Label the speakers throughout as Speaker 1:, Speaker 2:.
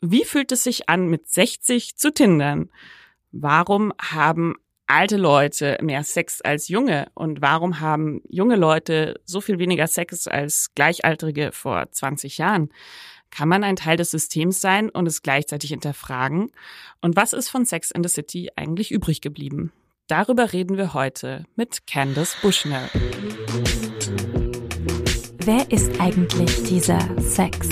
Speaker 1: Wie fühlt es sich an, mit 60 zu tindern? Warum haben alte Leute mehr Sex als junge? Und warum haben junge Leute so viel weniger Sex als Gleichaltrige vor 20 Jahren? Kann man ein Teil des Systems sein und es gleichzeitig hinterfragen? Und was ist von Sex in the City eigentlich übrig geblieben? Darüber reden wir heute mit Candace Bushnell.
Speaker 2: Wer ist eigentlich dieser Sex?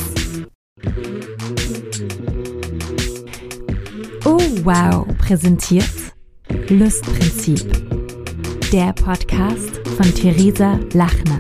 Speaker 2: Oh wow, präsentiert Lustprinzip. Der Podcast von Theresa Lachner.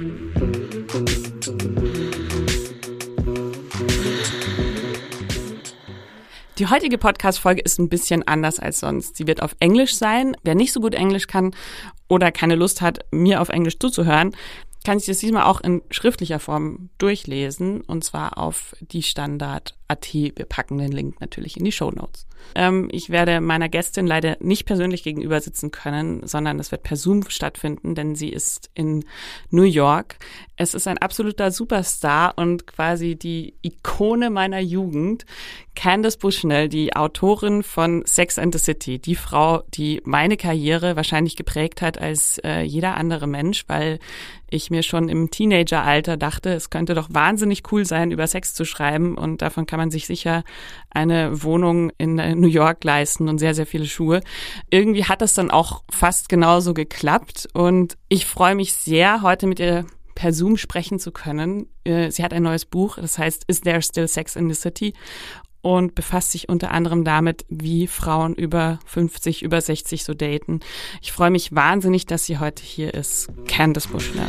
Speaker 1: Die heutige Podcast-Folge ist ein bisschen anders als sonst. Sie wird auf Englisch sein. Wer nicht so gut Englisch kann oder keine Lust hat, mir auf Englisch zuzuhören, kann sich das diesmal auch in schriftlicher Form durchlesen, und zwar auf die Standard.at. Wir packen den Link natürlich in die Shownotes. Ich werde meiner Gästin leider nicht persönlich gegenüber sitzen können, sondern es wird per Zoom stattfinden, denn sie ist in New York. Es ist ein absoluter Superstar und quasi die Ikone meiner Jugend, Candace Bushnell, die Autorin von Sex and the City, die Frau, die meine Karriere wahrscheinlich geprägt hat als jeder andere Mensch, weil ich mir schon im Teenageralter dachte, es könnte doch wahnsinnig cool sein, über Sex zu schreiben, und davon kann man sich sicher eine Wohnung in New York leisten und sehr, sehr viele Schuhe. Irgendwie hat das dann auch fast genauso geklappt, und ich freue mich sehr, heute mit ihr per Zoom sprechen zu können. Sie hat ein neues Buch, das heißt Is There Still Sex in the City? Und befasst sich unter anderem damit, wie Frauen über 50, über 60 so daten. Ich freue mich wahnsinnig, dass sie heute hier ist. Candace Bushnell.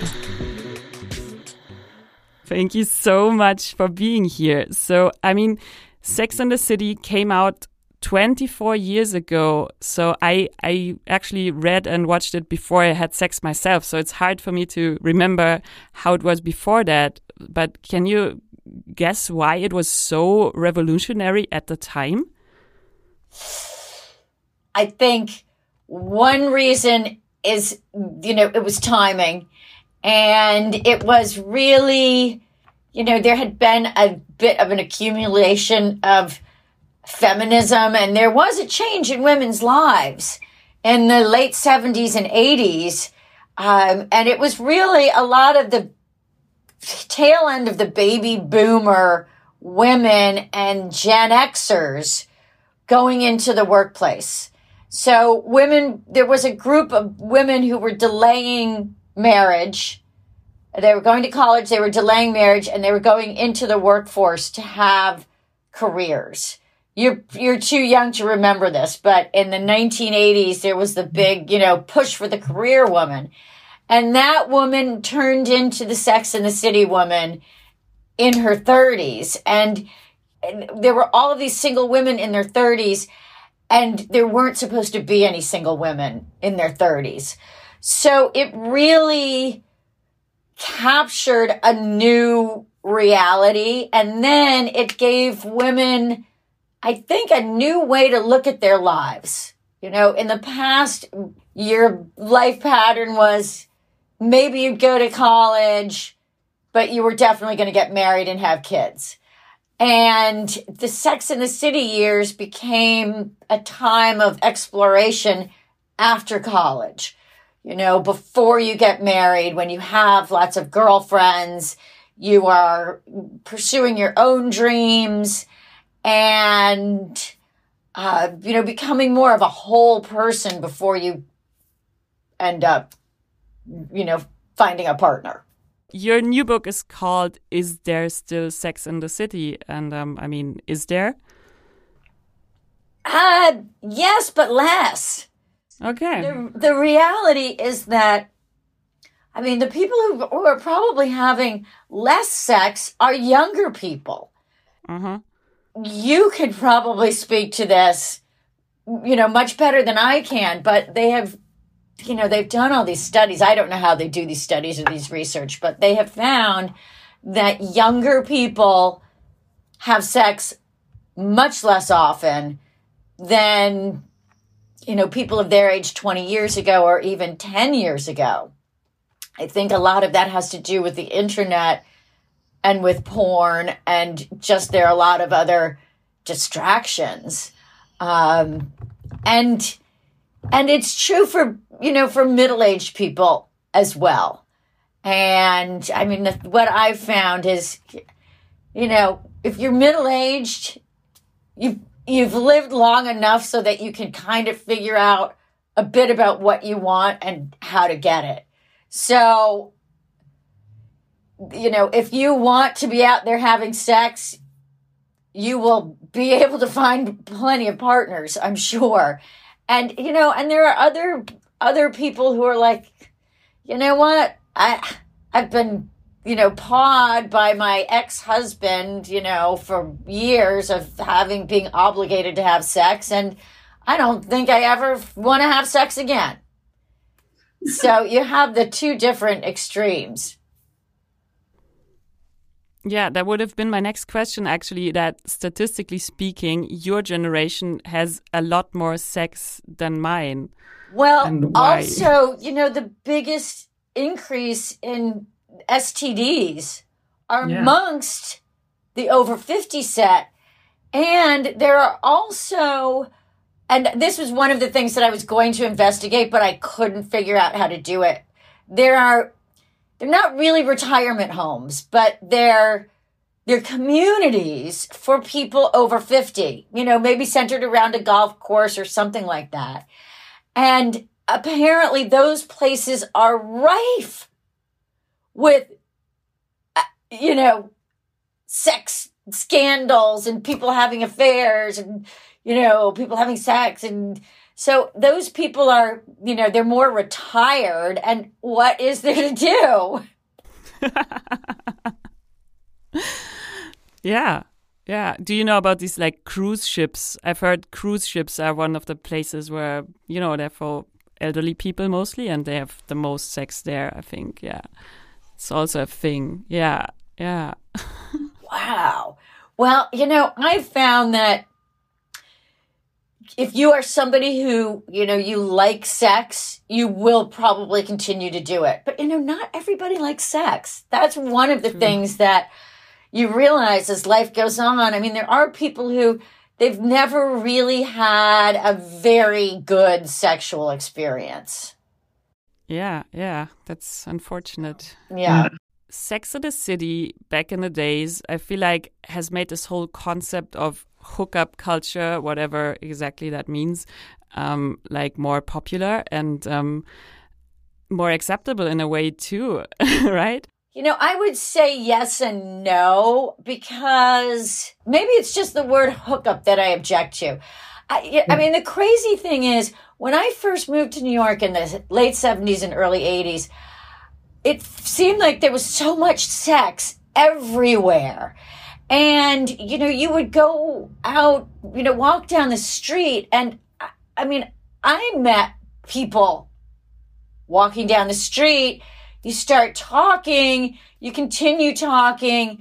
Speaker 1: Thank you so much for being here. So, I mean, Sex and the City came out 24 years ago. So I actually read and watched it before I had sex myself. So it's hard for me to remember how it was before that. But can you guess why it was so revolutionary at the time?
Speaker 3: I think one reason is, it was timing. And it was really, there had been a bit of an accumulation of feminism, and there was a change in women's lives in the late 70s and 80s. And it was really a lot of the tail end of the baby boomer women and Gen Xers going into the workplace. So there was a group of women who were delaying marriage. They were going to college, they were delaying marriage, and they were going into the workforce to have careers. You're too young to remember this, but in the 1980s, there was the big, push for the career woman. And that woman turned into the Sex and the City woman in her 30s. And there were all of these single women in their 30s, and there weren't supposed to be any single women in their 30s. So it really captured a new reality. And then it gave women, I think, a new way to look at their lives. In the past, your life pattern was maybe you'd go to college, but you were definitely going to get married and have kids. And the Sex and the City years became a time of exploration after college. Before you get married, when you have lots of girlfriends, you are pursuing your own dreams and, becoming more of a whole person before you end up finding a partner.
Speaker 1: Your new book is called Is There Still Sex in the City? And is there?
Speaker 3: Yes, but less.
Speaker 1: Okay.
Speaker 3: The reality is that, the people who are probably having less sex are younger people.
Speaker 1: Uh-huh.
Speaker 3: You could probably speak to this, much better than I can, but they have, they've done all these studies. I don't know how they do these studies or these research, but they have found that younger people have sex much less often than, people of their age 20 years ago or even 10 years ago. I think a lot of that has to do with the internet and with porn, and just there are a lot of other distractions. And it's true for, for middle-aged people as well. And I mean, what I've found is, if you're middle-aged, you've lived long enough so that you can kind of figure out a bit about what you want and how to get it. So, if you want to be out there having sex, you will be able to find plenty of partners, I'm sure. And, and there are other people who are like, you know what? I've been, pawed by my ex-husband, for years of being obligated to have sex. And I don't think I ever want to have sex again. So you have the two different extremes.
Speaker 1: Yeah, that would have been my next question, actually, that statistically speaking, your generation has a lot more sex than mine.
Speaker 3: Well, also, the biggest increase in STDs are amongst the over 50 set. And there are also, and this was one of the things that I was going to investigate, but I couldn't figure out how to do it. They're not really retirement homes, but they're communities for people over 50, maybe centered around a golf course or something like that. And apparently those places are rife with, sex scandals and people having affairs and, people having sex. And so those people are, they're more retired. And what is there to do?
Speaker 1: Yeah. Yeah. Do you know about these like cruise ships? I've heard cruise ships are one of the places where, they're for elderly people mostly, and they have the most sex there, I think. Yeah. It's also a thing. Yeah. Yeah.
Speaker 3: Wow. Well, I found that if you are somebody who, you like sex, you will probably continue to do it. But, not everybody likes sex. That's one of the things that you realize as life goes on. I mean, there are people who they've never really had a very good sexual experience.
Speaker 1: Yeah, yeah. That's unfortunate.
Speaker 3: Yeah.
Speaker 1: Sex in the City, back in the days, I feel like has made this whole concept of hookup culture, whatever exactly that means, like more popular and more acceptable in a way too, right?
Speaker 3: I would say yes and no, because maybe it's just the word hookup that I object to. I mean, the crazy thing is, when I first moved to New York in the late 70s and early 80s, it seemed like there was so much sex everywhere. And, you would go out, walk down the street. And I mean, I met people walking down the street. You start talking, you continue talking.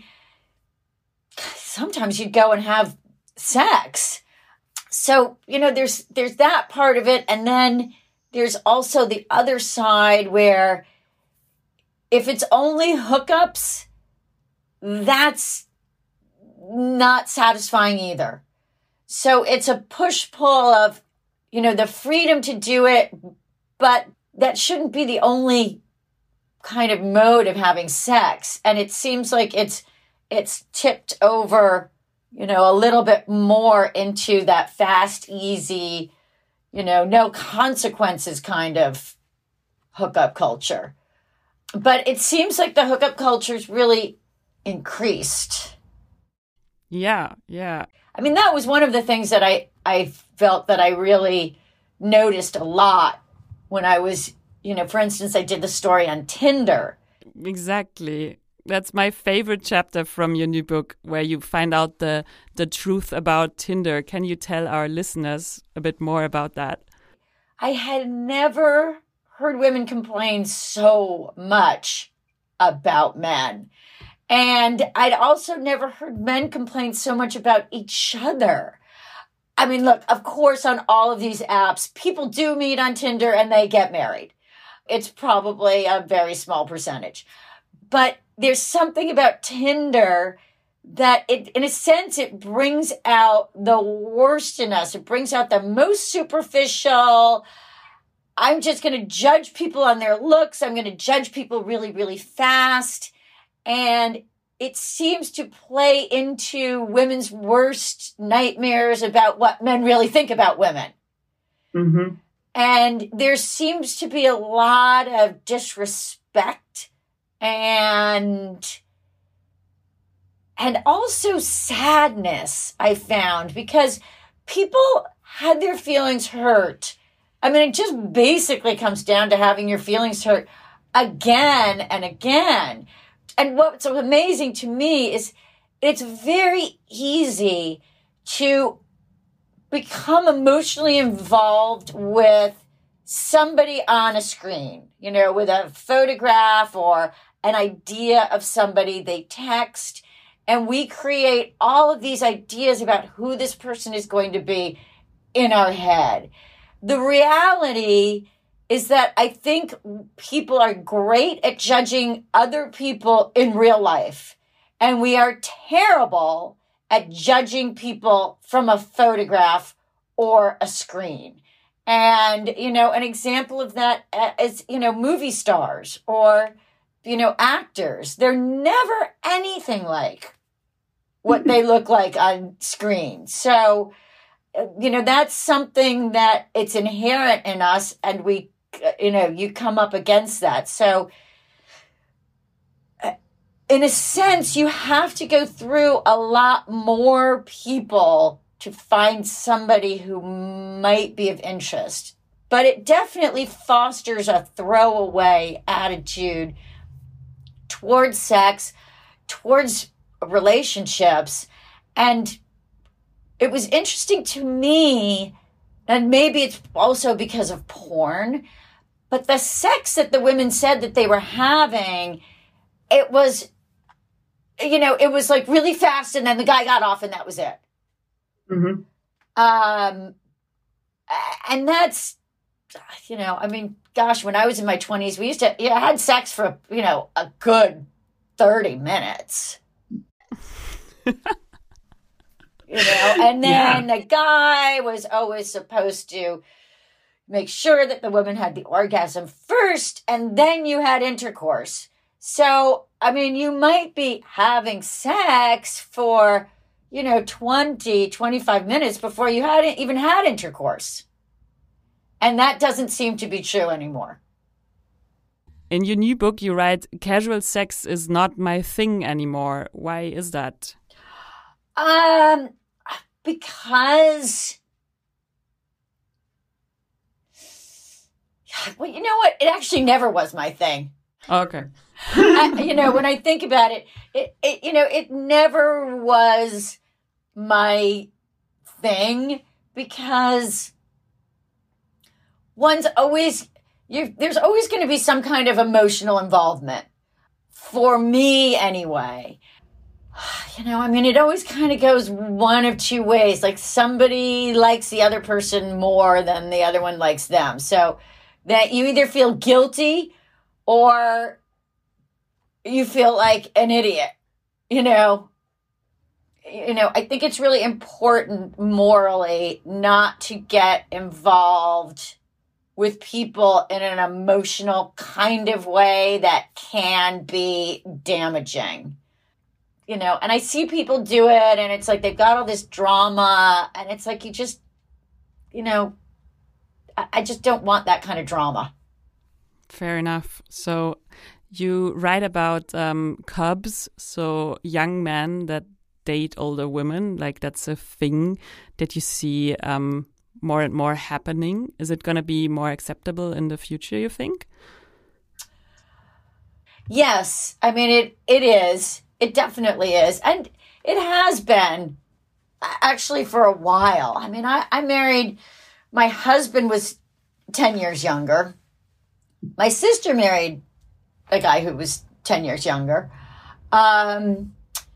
Speaker 3: Sometimes you'd go and have sex. So, there's that part of it. And then there's also the other side where if it's only hookups, that's not satisfying either. So it's a push-pull of, the freedom to do it, but that shouldn't be the only kind of mode of having sex. And it seems like it's tipped over, a little bit more into that fast, easy, no consequences kind of hookup culture. But it seems like the hookup culture's really increased.
Speaker 1: Yeah, yeah.
Speaker 3: I mean, that was one of the things that I felt that I really noticed a lot when I was, for instance, I did the story on Tinder.
Speaker 1: Exactly. That's my favorite chapter from your new book, where you find out the truth about Tinder. Can you tell our listeners a bit more about that?
Speaker 3: I had never heard women complain so much about men. And I'd also never heard men complain so much about each other. I mean, look, of course, on all of these apps, people do meet on Tinder and they get married. It's probably a very small percentage. But there's something about Tinder that it, in a sense, it brings out the worst in us. It brings out the most superficial. I'm just going to judge people on their looks. I'm going to judge people really, really fast. And it seems to play into women's worst nightmares about what men really think about women.
Speaker 4: Mm-hmm.
Speaker 3: And there seems to be a lot of disrespect and also sadness, I found, because people had their feelings hurt. I mean, it just basically comes down to having your feelings hurt again and again. And what's so amazing to me is it's very easy to become emotionally involved with somebody on a screen, you know, with a photograph or an idea of somebody they text. And we create all of these ideas about who this person is going to be in our head. The reality is that I think people are great at judging other people in real life. And we are terrible at judging people from a photograph or a screen. And, you know, an example of that is, you know, movie stars or, you know, actors. They're never anything like what they look like on screen. So, you know, that's something that it's inherent in us, and we, you know, you come up against that. So in a sense, you have to go through a lot more people to find somebody who might be of interest. But it definitely fosters a throwaway attitude towards sex, towards relationships. And it was interesting to me, and maybe it's also because of porn, but the sex that the women said that they were having, it was, you know, it was like really fast, and then the guy got off and that was it.
Speaker 4: Mm-hmm.
Speaker 3: And that's, you know, I mean, gosh, when I was in my 20s, we used to, I had sex for, you know, a good 30 minutes. You know, and then the guy was always supposed to make sure that the woman had the orgasm first, and then you had intercourse. So, I mean, you might be having sex for, you know, 20, 25 minutes before you hadn't even had intercourse. And that doesn't seem to be true anymore.
Speaker 1: In your new book, you write, casual sex is not my thing anymore. Why is that?
Speaker 3: Because, well, you know what? It actually never was my thing.
Speaker 1: Oh, okay.
Speaker 3: You know, when I think about it, you know, it never was my thing, because there's always going to be some kind of emotional involvement, for me anyway. You know, I mean, it always kind of goes one of two ways. Like, somebody likes the other person more than the other one likes them. So that you either feel guilty or you feel like an idiot, you know. You know, I think it's really important morally not to get involved with people in an emotional kind of way that can be damaging. You know, and I see people do it, and it's like they've got all this drama, and it's like, you just, you know, I just don't want that kind of drama.
Speaker 1: Fair enough. So you write about cubs, so young men that date older women, like that's a thing that you see more and more happening. Is it going to be more acceptable in the future, you think?
Speaker 3: Yes. I mean, it is. It definitely is. And it has been actually for a while. I mean, I married, my husband was 10 years younger. My sister married a guy who was 10 years younger. But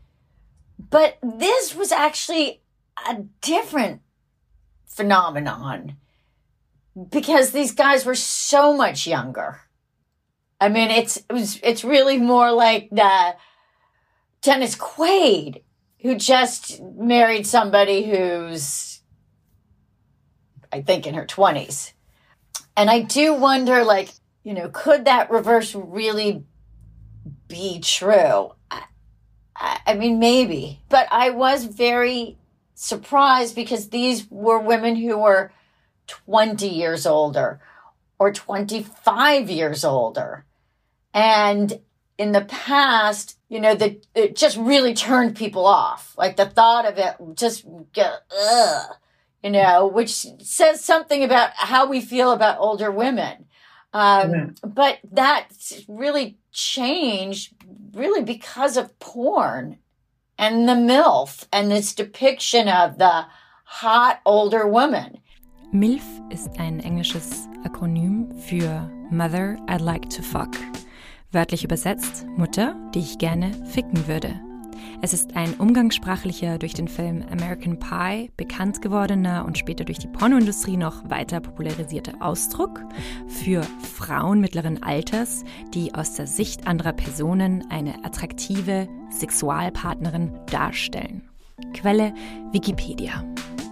Speaker 3: this was actually a different phenomenon because these guys were so much younger. I mean, it's really more like the Dennis Quaid who just married somebody who's, I think, in her 20s. And I do wonder, like, you know, could that reverse really be true? I mean, maybe. But I was very surprised because these were women who were 20 years older or 25 years older. And in the past, you know, it just really turned people off. Like the thought of it just, you know, which says something about how we feel about older women. But that really changed really because of porn and the MILF and this depiction of the hot older woman.
Speaker 2: MILF ist ein englisches Akronym für Mother I'd Like to Fuck. Wörtlich übersetzt Mutter, die ich gerne ficken würde. Es ist ein umgangssprachlicher, durch den Film American Pie bekannt gewordener und später durch die Pornoindustrie noch weiter popularisierter Ausdruck für Frauen mittleren Alters, die aus der Sicht anderer Personen eine attraktive Sexualpartnerin darstellen. Quelle Wikipedia.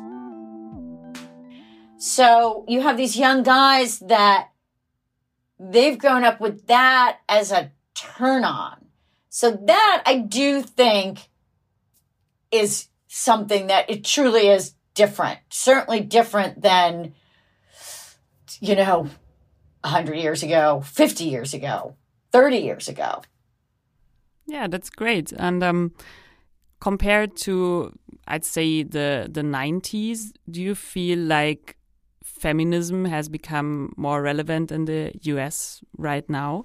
Speaker 3: So you have these young guys that they've grown up with that as a turn on. So that I do think is something that it truly is different. Certainly different than, you know, 100 years ago, 50 years ago, 30 years ago.
Speaker 1: Yeah, that's great. And compared to, I'd say, the 90s, do you feel like feminism has become more relevant in the US right now?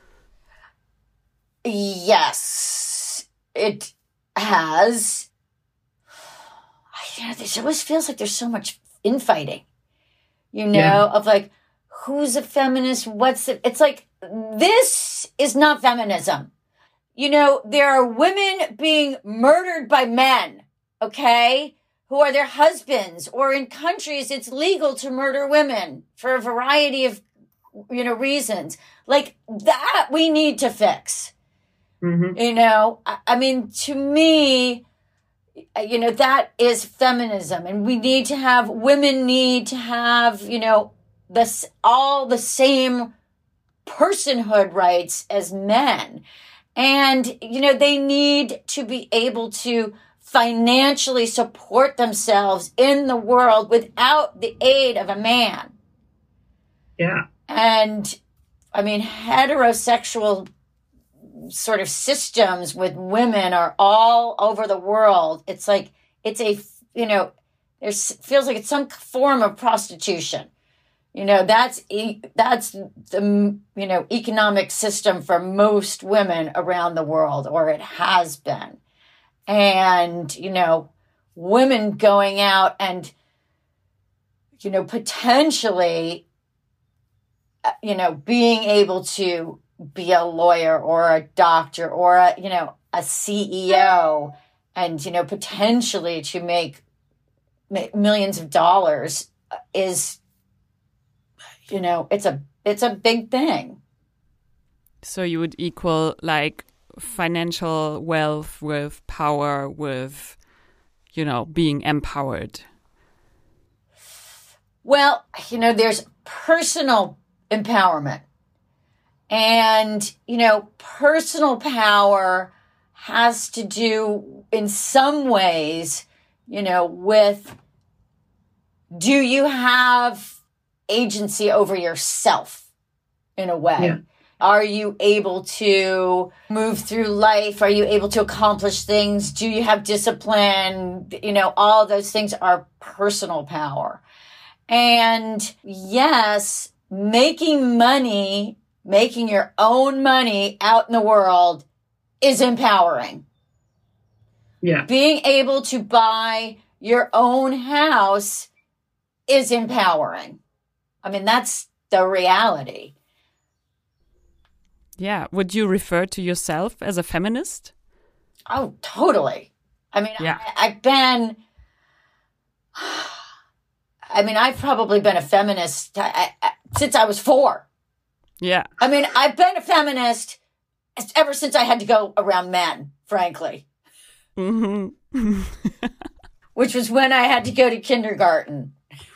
Speaker 3: Yes, it has. You know, this always feels like there's so much infighting, you know, of like, who's a feminist? What's it? It's like, this is not feminism. You know, there are women being murdered by men, okay, who are their husbands, or in countries it's legal to murder women for a variety of, you know, reasons. Like that we need to fix. Mm-hmm. You know, I mean, to me, you know, that is feminism. And women need to have, you know, all the same personhood rights as men. And, you know, they need to be able to financially support themselves in the world without the aid of a man.
Speaker 4: Yeah.
Speaker 3: And, I mean, heterosexual sort of systems with women are all over the world. It's like, it's a, you know, feels like it's some form of prostitution. You know, that's the, you know, economic system for most women around the world, or it has been. And, you know, women going out and, you know, potentially, you know, being able to be a lawyer or a doctor or a, you know, a CEO and, you know, potentially to make millions of dollars is, you know, it's a big thing.
Speaker 1: So you would equal like financial wealth with power, with, you know, being empowered.
Speaker 3: Well, you know, there's personal empowerment. And, you know, personal power has to do in some ways, you know, with, do you have agency over yourself in a way? Yeah. Are you able to move through life? Are you able to accomplish things? Do you have discipline? You know, all those things are personal power. And yes, making money, making your own money out in the world is empowering.
Speaker 4: Yeah.
Speaker 3: Being able to buy your own house is empowering. I mean, that's the reality.
Speaker 1: Yeah. Would you refer to yourself as a feminist?
Speaker 3: Oh, totally. I mean, yeah. I've probably been a feminist since I was 4.
Speaker 1: Yeah.
Speaker 3: I mean, I've been a feminist ever since I had to go around men, frankly.
Speaker 1: Mm-hmm.
Speaker 3: which was when I had to go to kindergarten.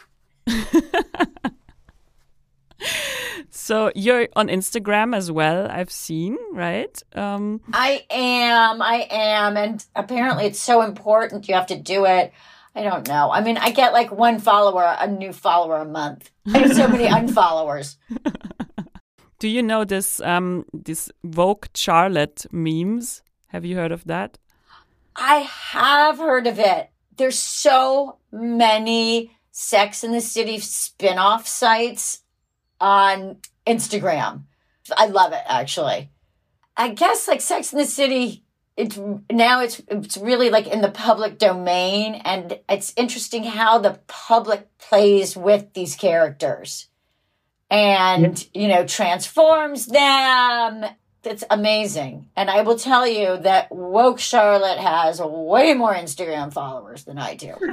Speaker 1: So you're on Instagram as well, I've seen, right?
Speaker 3: I am. And apparently it's so important. You have to do it. I don't know. I mean, I get like a new follower a month. I have so many unfollowers.
Speaker 1: Do you know this Vogue Charlotte memes? Have you heard of that?
Speaker 3: I have heard of it. There's so many Sex and the City spin-off sites on Instagram. I love it, actually. I guess like Sex and the City, it's really like in the public domain, and it's interesting how the public plays with these characters and, transforms them. It's amazing. And I will tell you that Woke Charlotte has way more Instagram followers than I do.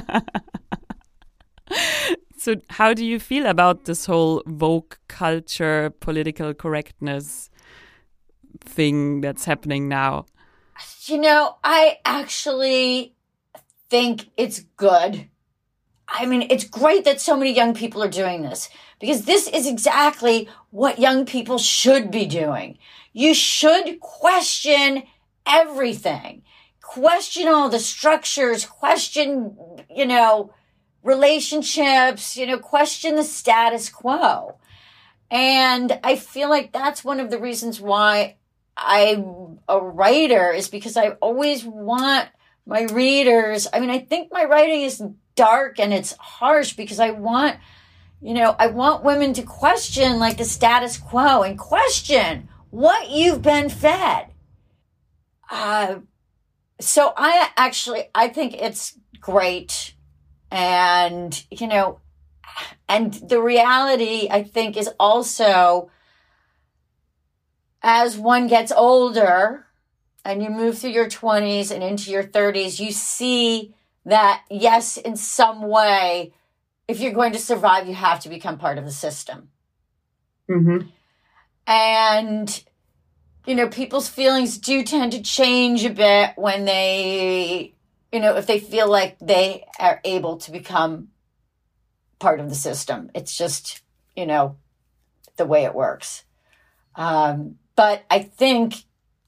Speaker 1: So how do you feel about this whole woke culture, political correctness thing that's happening now?
Speaker 3: I actually think it's good. I mean, it's great that so many young people are doing this, because this is exactly what young people should be doing. You should question everything. Question all the structures, question, relationships, question the status quo. And I feel like that's one of the reasons why I'm a writer, is because I always want my readers. I mean, I think my writing is dark and it's harsh because I want women to question like the status quo and question what you've been fed. So I think it's great. And, and the reality, I think, is also, as one gets older and you move through your 20s and into your 30s, you see that, yes, in some way, if you're going to survive, you have to become part of the system.
Speaker 4: Mm-hmm.
Speaker 3: And, people's feelings do tend to change a bit when they, if they feel like they are able to become part of the system. It's just, the way it works. But I think,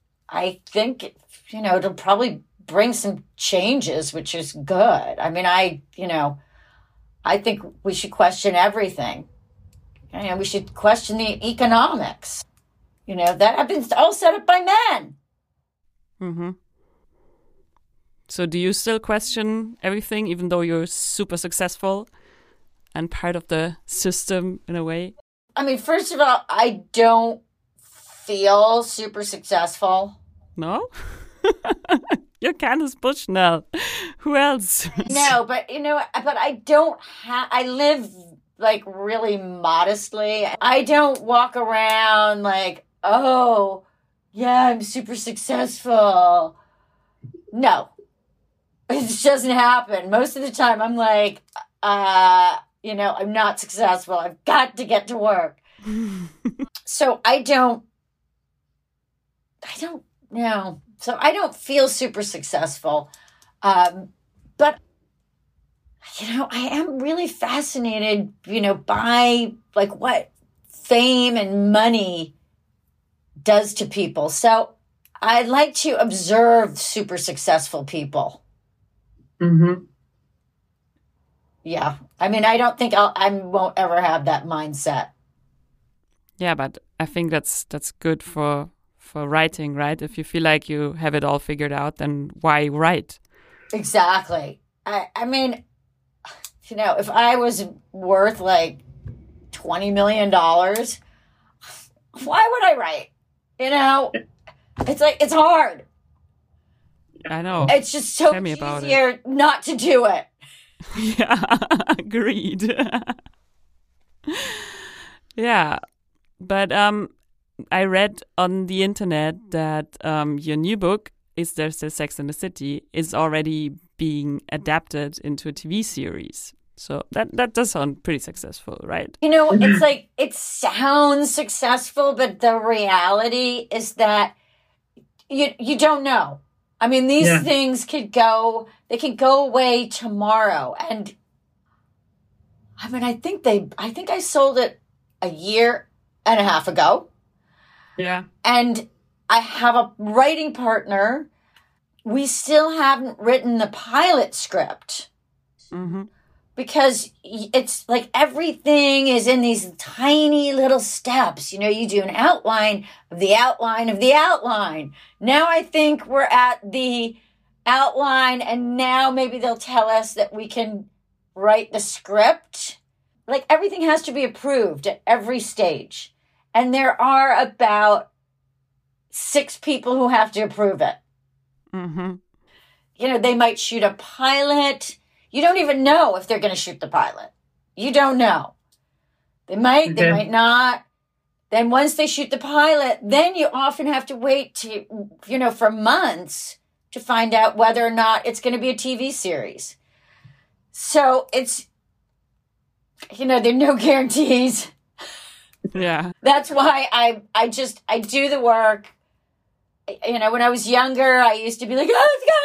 Speaker 3: it'll probably bring some changes, which is good. I mean, I think we should question everything. We should question the economics, that have been all set up by men.
Speaker 1: Mm-hmm. So do you still question everything, even though you're super successful and part of the system in a way?
Speaker 3: I mean, first of all, I don't feel super successful.
Speaker 1: No? You're Candace Bushnell. Who else?
Speaker 3: No, but but I live like really modestly. I don't walk around like, oh, yeah, I'm super successful. No, it just doesn't happen. Most of the time I'm like, I'm not successful. I've got to get to work. So I don't know. So I don't feel super successful. But, I am really fascinated, by like what fame and money does to people. So I like to observe super successful people.
Speaker 4: Mm-hmm.
Speaker 3: Yeah. I mean, I don't think I won't ever have that mindset.
Speaker 1: Yeah, but I think that's good for writing, right? If you feel like you have it all figured out, then why write?
Speaker 3: Exactly. I mean, if I was worth like $20 million, why would I write? It's like, it's hard.
Speaker 1: I know.
Speaker 3: It's just so easier not to do it.
Speaker 1: Yeah, agreed. Yeah, but I read on the internet that your new book, Is There Still Sex in the City, is already being adapted into a TV series. So that does sound pretty successful, right?
Speaker 3: It's like, it sounds successful, but the reality is that you don't know. I mean, these
Speaker 4: Yeah.
Speaker 3: things they can go away tomorrow. And I mean, I think I sold it a year and a half ago.
Speaker 1: Yeah.
Speaker 3: And I have a writing partner. We still haven't written the pilot script
Speaker 1: Mm-hmm.
Speaker 3: because it's like everything is in these tiny little steps. You know, you do an outline of the outline of the outline. Now I think we're at the outline, and now maybe they'll tell us that we can write the script. Like everything has to be approved at every stage. And there are about 6 people who have to approve it.
Speaker 1: Mm-hmm.
Speaker 3: You know, they might shoot a pilot. You don't even know if they're going to shoot the pilot. You don't know. They might, they
Speaker 4: Okay.
Speaker 3: might not. Then once they shoot the pilot, then you often have to wait for months to find out whether or not it's going to be a TV series. So it's, there are no guarantees.
Speaker 1: Yeah.
Speaker 3: That's why I do the work. When I was younger, I used to be like, oh, it's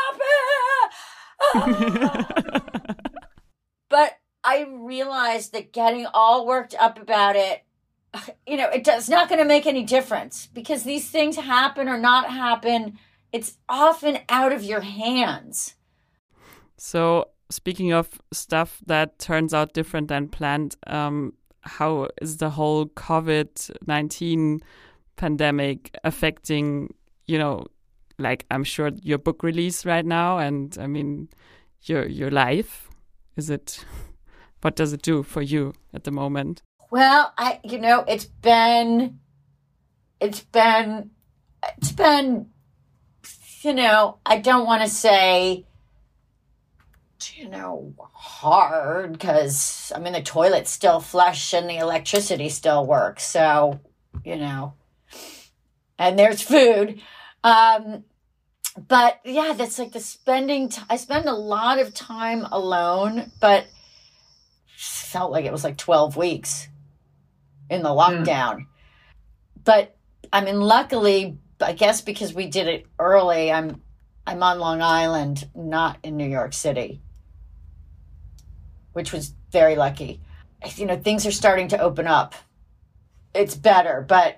Speaker 3: gonna happen. But I realized that getting all worked up about it, it's not going to make any difference because these things happen or not happen. It's often out of your hands.
Speaker 1: So speaking of stuff that turns out different than planned, how is the whole COVID-19 pandemic affecting, like I'm sure your book release right now, and I mean your life? What does it do for you at the moment?
Speaker 3: Well, it's been, I don't want to say, hard because, I mean, the toilets still flush and the electricity still works. So, and there's food. But yeah, that's like I spend a lot of time alone, but felt like it was like 12 weeks in the lockdown. But I mean, luckily, I guess because we did it early, I'm on Long Island, not in New York City, which was very lucky. Things are starting to open up. It's better, but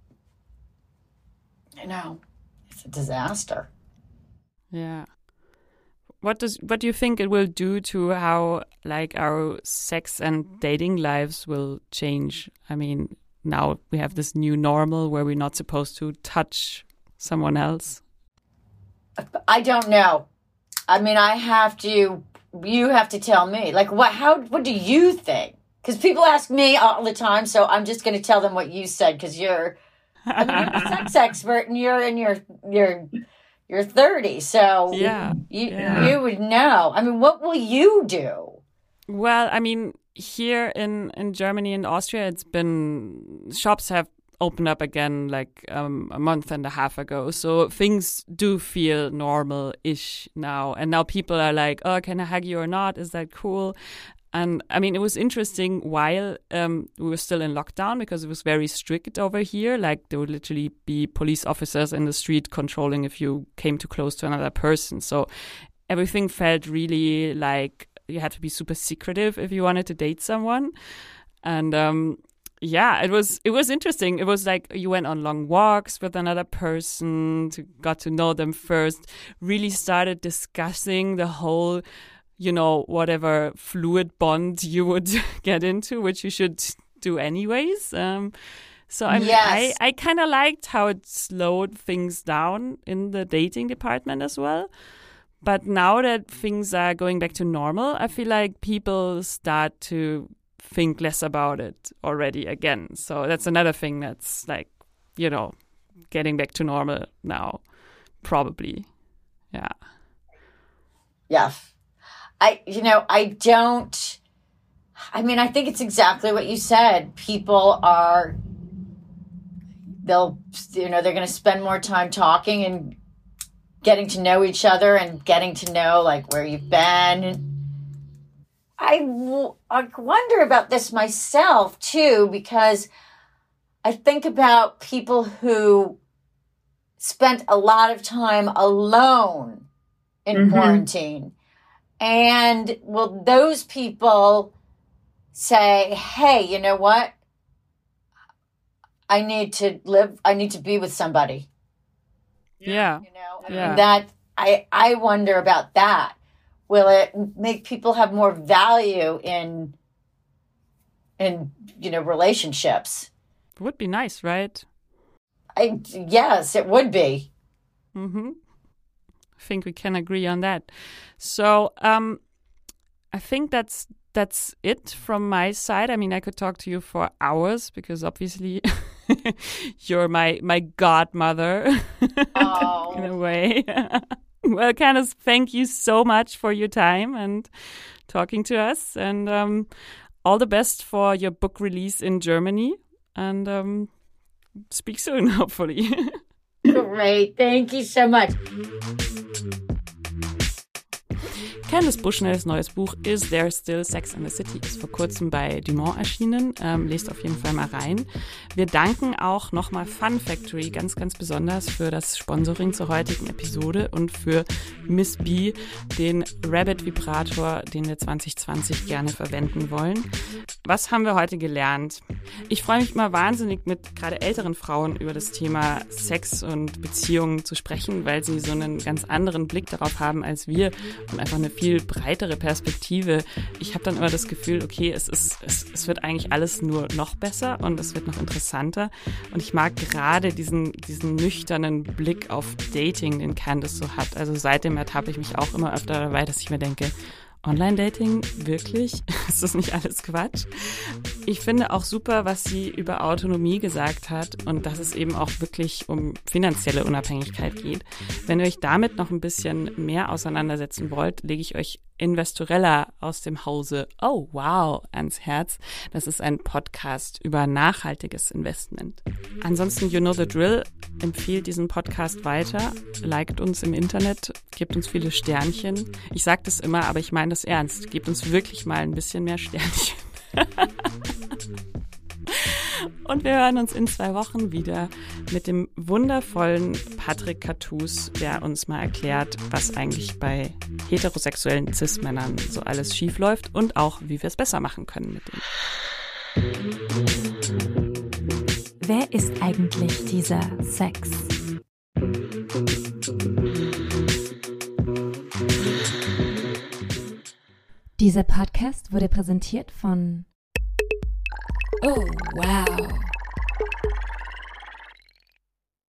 Speaker 3: it's a disaster.
Speaker 1: Yeah. What do you think it will do to how like our sex and dating lives will change? I mean, now we have this new normal where we're not supposed to touch someone else.
Speaker 3: I don't know. I mean, you have to tell me. Like, what do you think? Because people ask me all the time, so I'm just going to tell them what you said because you're a sex expert and you're in your 30, so
Speaker 1: Yeah.
Speaker 3: you would know. I mean, what will you do?
Speaker 1: Well, I mean, here in Germany and Austria, shops have opened up again like a month and a half ago. So things do feel normal-ish now. And now people are like, oh, can I hug you or not? Is that cool? And I mean, it was interesting while we were still in lockdown because it was very strict over here. Like there would literally be police officers in the street controlling if you came too close to another person. So everything felt really like you had to be super secretive if you wanted to date someone. And yeah, it was interesting. It was like you went on long walks with another person, got to know them first, really started discussing the whole whatever fluid bond you would get into, which you should do anyways. So I mean,
Speaker 3: Yes.
Speaker 1: I kind of liked how it slowed things down in the dating department as well. But now that things are going back to normal, I feel like people start to think less about it already again. So that's another thing that's like, getting back to normal now, probably. Yeah.
Speaker 3: Yeah. I think it's exactly what you said. People they're going to spend more time talking and getting to know each other and getting to know like where you've been. I wonder about this myself too, because I think about people who spent a lot of time alone in quarantine. And will those people say, hey, you know what? I need to be with somebody.
Speaker 1: Yeah.
Speaker 3: You know,
Speaker 1: Yeah.
Speaker 3: that I wonder about that. Will it make people have more value in relationships?
Speaker 1: Would be nice, right?
Speaker 3: Yes, it would be.
Speaker 1: I think we can agree on that. So I think that's it from my side. I mean, I could talk to you for hours because obviously you're my godmother in a way. Well, Candice, thank you so much for your time and talking to us. And all the best for your book release in Germany. And speak soon, hopefully.
Speaker 3: Great. Thank you so much.
Speaker 1: Candice Bushnells neues Buch Is There Still Sex in the City ist vor kurzem bei Dumont erschienen. Lest auf jeden Fall mal rein. Wir danken auch nochmal Fun Factory ganz, ganz besonders für das Sponsoring zur heutigen Episode und für Miss B, den Rabbit Vibrator, den wir 2020 gerne verwenden wollen. Was haben wir heute gelernt? Ich freue mich immer wahnsinnig, mit gerade älteren Frauen über das Thema Sex und Beziehungen zu sprechen, weil sie so einen ganz anderen Blick darauf haben als wir und einfach eine viel breitere Perspektive. Ich habe dann immer das Gefühl, okay, es wird eigentlich alles nur noch besser und es wird noch interessanter. Und ich mag gerade diesen nüchternen Blick auf Dating, den Candice so hat. Also seitdem ertappe ich mich auch immer öfter dabei, dass ich mir denke, Online-Dating? Wirklich? Ist das nicht alles Quatsch? Ich finde auch super, was sie über Autonomie gesagt hat und dass es eben auch wirklich um finanzielle Unabhängigkeit geht. Wenn ihr euch damit noch ein bisschen mehr auseinandersetzen wollt, lege ich euch Investorella aus dem Hause Oh Wow ans Herz. Das ist ein Podcast über nachhaltiges Investment. Ansonsten, you know the drill, empfiehlt diesen Podcast weiter, liked uns im Internet, gebt uns viele Sternchen. Ich sage das immer, aber ich meine das ernst. Gebt uns wirklich mal ein bisschen mehr Sternchen. Und wir hören uns in 2 Wochen wieder mit dem wundervollen Patrick Cartous, der uns mal erklärt, was eigentlich bei heterosexuellen Cis-Männern so alles schief läuft und auch, wie wir es besser machen können mit denen.
Speaker 2: Wer ist eigentlich dieser Sex? Dieser Podcast wurde präsentiert von Oh, wow.